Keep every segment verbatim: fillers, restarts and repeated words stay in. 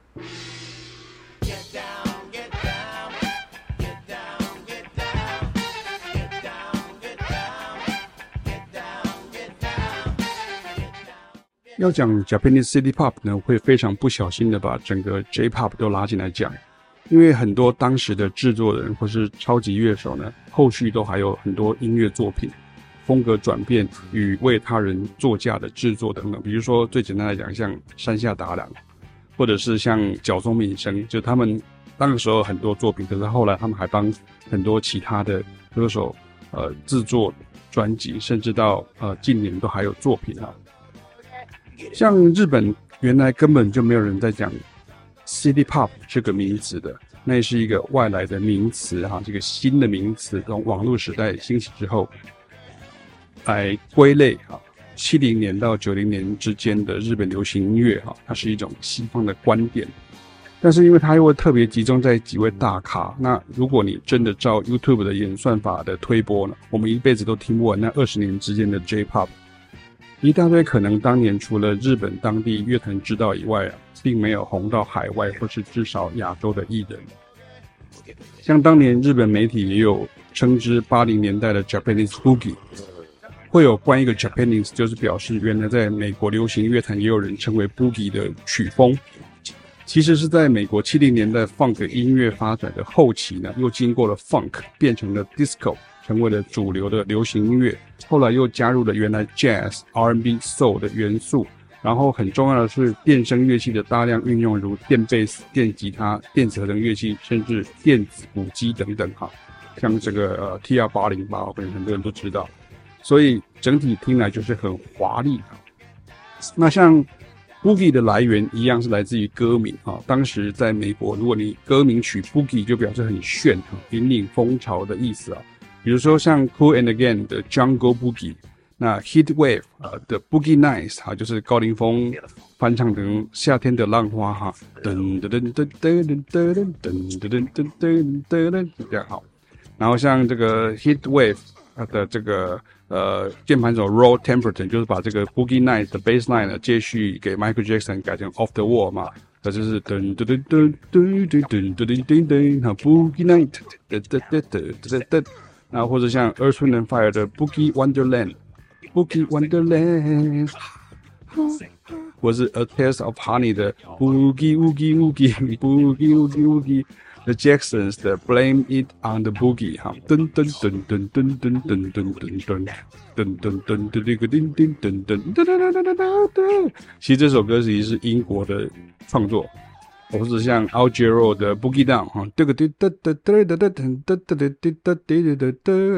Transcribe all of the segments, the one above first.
要講 Japanese City Pop 呢，會非常不小心的把整個 J-Pop 都拉進來講，因為很多當時的制作人或是超級樂手呢，後續都還有很多音樂作品，風格轉變與為他人作嫁的制作等等。比如說最簡單來講，像山下達郎，或者是像角松敏生，就他們那個時候很多作品，可是後來他們還幫很多其他的歌手呃制作專輯，甚至到呃近年都還有作品啊。像日本原來根本就沒有人在講 City Pop 這個名詞的，那也是一個外來的名詞哈，這個新的名詞從網絡時代興起之後來歸類哈，七零年到九零年之間的日本流行音樂哈，它是一種西方的觀點，但是因為它又會特別集中在幾位大咖，那如果你真的照 YouTube 的演算法的推播呢，我們一輩子都聽不完那二十年之間的 J-Pop。一大堆可能當年除了日本當地樂壇知道以外啊，並沒有紅到海外或是至少亞洲的藝人。像當年日本媒體也有稱之八零年代的 Japanese Boogie， 會有關一個 Japanese， 就是表示原來在美國流行樂壇也有人稱為 Boogie 的曲風。其實是在美國七零年代 Funk 音樂發展的後期呢，又經過了 Funk 變成了 Disco， 成為了主流的流行音樂。後來又加入了原來 Jazz、R and B、Soul 的元素，然後很重要的是電聲樂器的大量運用，如電貝斯、電吉他、電子合成樂器，甚至電子鼓機等等哈。像這個呃 T R 八零八，可能很多人都知道，所以整體聽來就是很華麗。那像 Boogie 的來源一樣是來自於歌名啊。當時在美國，如果你歌名取 Boogie， 就表示很炫、引領風潮的意思啊。比如說像 Kool and the Gang 的 Jungle Boogie， 那 Heatwave 啊的 Boogie Nights 哈，就是高凌風翻唱成夏天的浪花哈，噔噔噔噔噔噔噔噔噔噔噔噔噔，這樣好。然後像這個 Heatwave 的這個呃鍵盤手 Roy Templeton， 就是把這個 Boogie Nights 的 bassline 呢接續給 Michael Jackson 改成 Off the Wall 嘛，那就是噔噔噔噔噔噔噔噔噔噔，哈 Boogie Night， 噔噔噔噔噔噔。然後或者像 Earth, Wind and Fire 的 Boogie Wonderland，Boogie Wonderland， 或是 A Taste of Honey 的 Boogie Woogie Woogie Boogie Woogie Woogie，The Jacksons 的 Blame It on the Boogie， 哈，噔噔噔噔噔噔噔噔噔噔噔噔噔噔噔個叮叮噔噔噔噔噔噔噔。其實這首歌其實是英國的創作。或是像 Al Jarreau 的 Boogie Down 哈，這個嘚嘚嘚嘚嘚嘚嘚嘚嘚嘚嘚嘚嘚嘚嘚嘚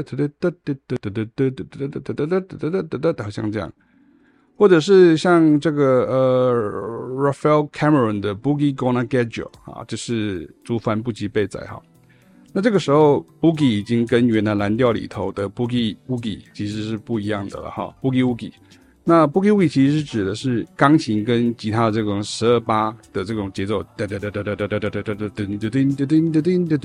嘚嘚嘚，好像這樣，或者是像這個呃 Raphael Cameron 的 Boogie Gonna Get You 啊，就是竹帆不及被宰哈。那這個時候 Boogie 已經跟原來藍調裡頭的 Boogie Woogie 其實是不一樣的了哈 ，Boogie Woogie。那 Boogie Woogie 其實是指的是鋼琴跟吉他的這種十二八的這種節奏，噠噠噠噠噠噠噠噠噠噠噠噔噔噔噔噔噔噔噔噔噔噔噔噔噔噔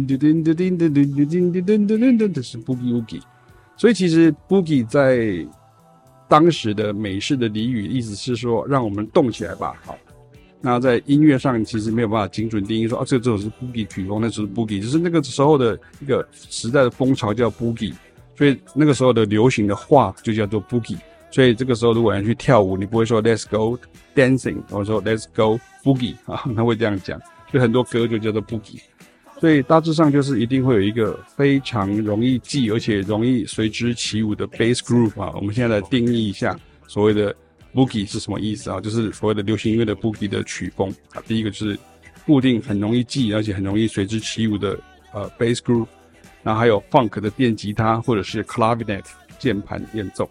噔噔噔，這是 Boogie Woogie。所以其實 Boogie 在當時的美式的俚語意思是說，讓我們動起來吧。好，那在音樂上其實沒有辦法精準定義說，啊，這個這首是 Boogie 曲風，那就是 Boogie， 就是那個時候的一個時代的風潮叫 Boogie， 所以那個時候的流行的話就叫做 Boogie。所以這個時候，如果要去跳舞，你不會說 Let's go dancing， 或者說 Let's go boogie 啊，他會這樣講。所以很多歌就叫做 boogie。所以大致上就是一定會有一個非常容易記，而且容易隨之起舞的 bass groove 啊。我們現在來定義一下所謂的 boogie 是什麼意思啊？就是所謂的流行音樂的 boogie 的曲風啊。第一個就是固定很容易記，而且很容易隨之起舞的呃 bass groove， 然後還有 funk 的電吉他或者是 clavinet。鍵盤演奏，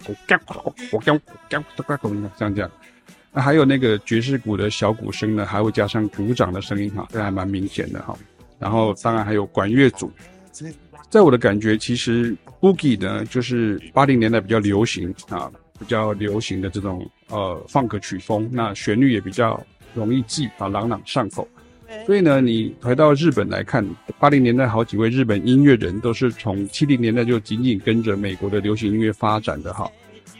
像這樣。那還有那個爵士鼓的小鼓聲呢，還會加上鼓掌的聲音哈，這還蠻明顯的哈。然後當然還有管樂組。在我的感覺，其實 Boogie 呢，就是八零年代比較流行啊，比較流行的這種呃 Funk 曲風，那旋律也比較容易記啊，朗朗上口。所以呢，你回到日本來看，八零年代好幾位日本音樂人都是從七零年代就緊緊跟着美國的流行音樂發展的哈。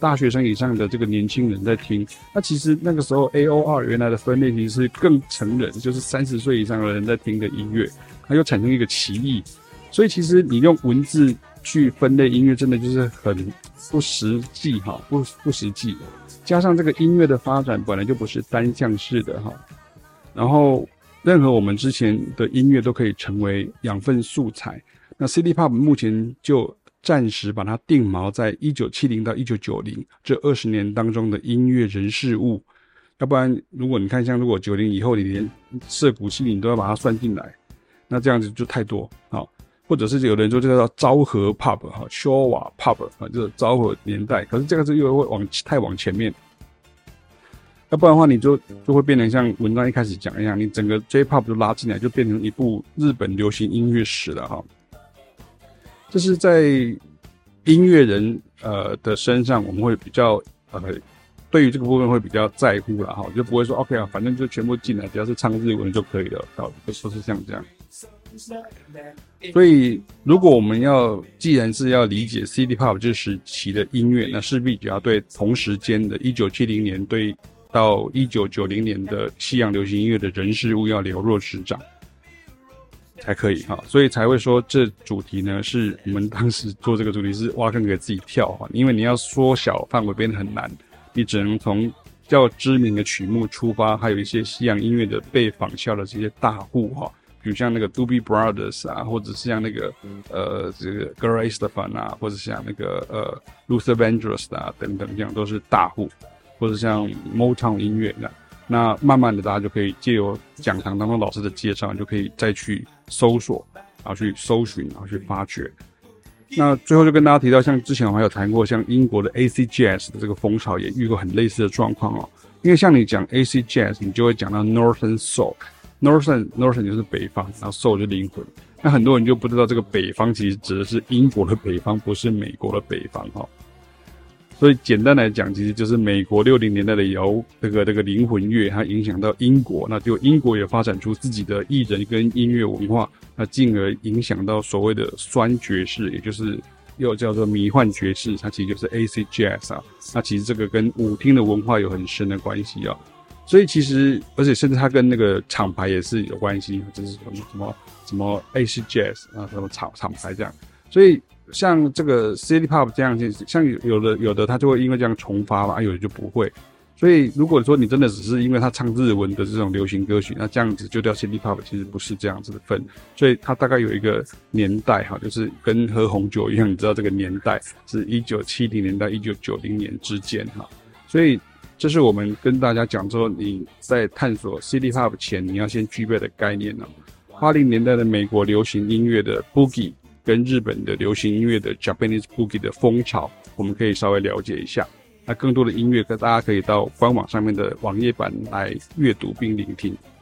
大學生以上的這個年輕人在聽。那其實那個時候 A O R 原來的分類其實是更成人，就是三十歲以上的人在聽的音樂，它又產生一個歧義。所以其實你用文字去分類音樂，真的就是很不實際哈，不不實際。加上這個音樂的發展本來就不是單向式的哈，然後任何我們之前的音樂都可以成為養分素材。那 City Pop 目前就暫時把它定錨在一九七零到一九九零這二十年當中的音樂人事物。要不然，如果你看像如果九零以後你連澀谷七零都要把它算進來，那這樣子就太多好。或者是有人說這個叫昭和 pop 哈，昭和 pop 啊，就是昭和年代，可是這個是又會往太往前面，要不然的話你就就會變成像文章一開始講一樣，你整個 J-pop 就拉進來，就變成一部日本流行音樂史了哈。這是在音樂人呃的身上，我們會比較呃對於這個部分會比較在乎了哈，就不會說 OK 啊，反正就全部進來，只要是唱日文就可以了，好，就說是像這樣。所以，如果我們要既然是要理解 City Pop 這時期的音樂，那勢必就要對同時間的一九七零年對到一九九零年的西洋流行音樂的人事物要了若指掌才可以哈。所以才會說這主題呢，是我們當時做這個主題是挖坑給自己跳哈，因為你要縮小範圍變得很難，你只能從較知名的曲目出發，還有一些西洋音樂的被仿效的這些大戶哈。比如像那個 Doobie Brothers 啊，或者是像那個呃這個 Gloria Estefan 啊，或者像那個呃 Luther Vandross 啊等等，這樣都是大戶，或者像 Motown 音樂這樣。那慢慢的大家就可以借由講堂當中老師的介紹，就可以再去搜索，然後去搜尋，然後去發掘。那最後就跟大家提到，像之前我還有談過，像英國的 Acid Jazz 的這個風潮也遇過很類似的狀況哦。因為像你講 Acid Jazz， 你就會講到 Northern Soul。Northern Northern 就是北方，然後 Soul 就是靈魂。那很多人就不知道這個北方其實指的是英國的北方，不是美國的北方哈。所以簡單來講，其實就是美國六零年代的搖這個這個靈魂樂，它影響到英國，那就英國也發展出自己的藝人跟音樂文化，那進而影響到所謂的酸爵士，也就是又叫做迷幻爵士，它其實就是 Acid Jazz 啊。那其實這個跟舞廳的文化有很深的關係啊。所以其實，而且甚至它跟那個廠牌也是有關係，就是什麼什麼什麼 Acid Jazz 啊，什麼廠廠牌這樣。所以像這個 City Pop 這樣，像有的有的它就會因為這樣重發嘛，有的就不會。所以如果說你真的只是因為它唱日文的這種流行歌曲，那這樣子就叫 City Pop， 其實不是這樣子的分。所以它大概有一個年代哈，就是跟喝紅酒一樣，你知道這個年代是一九七零年到一九九零年之間哈，所以。這是我們跟大家講說，你在探索 City Pop 前，你要先具備的概念呢。八零年代的美國流行音樂的 Boogie 跟日本的流行音樂的 Japanese Boogie 的風潮，我們可以稍微了解一下。那更多的音樂，大家可以到官網上面的網頁版來閱讀並聆聽。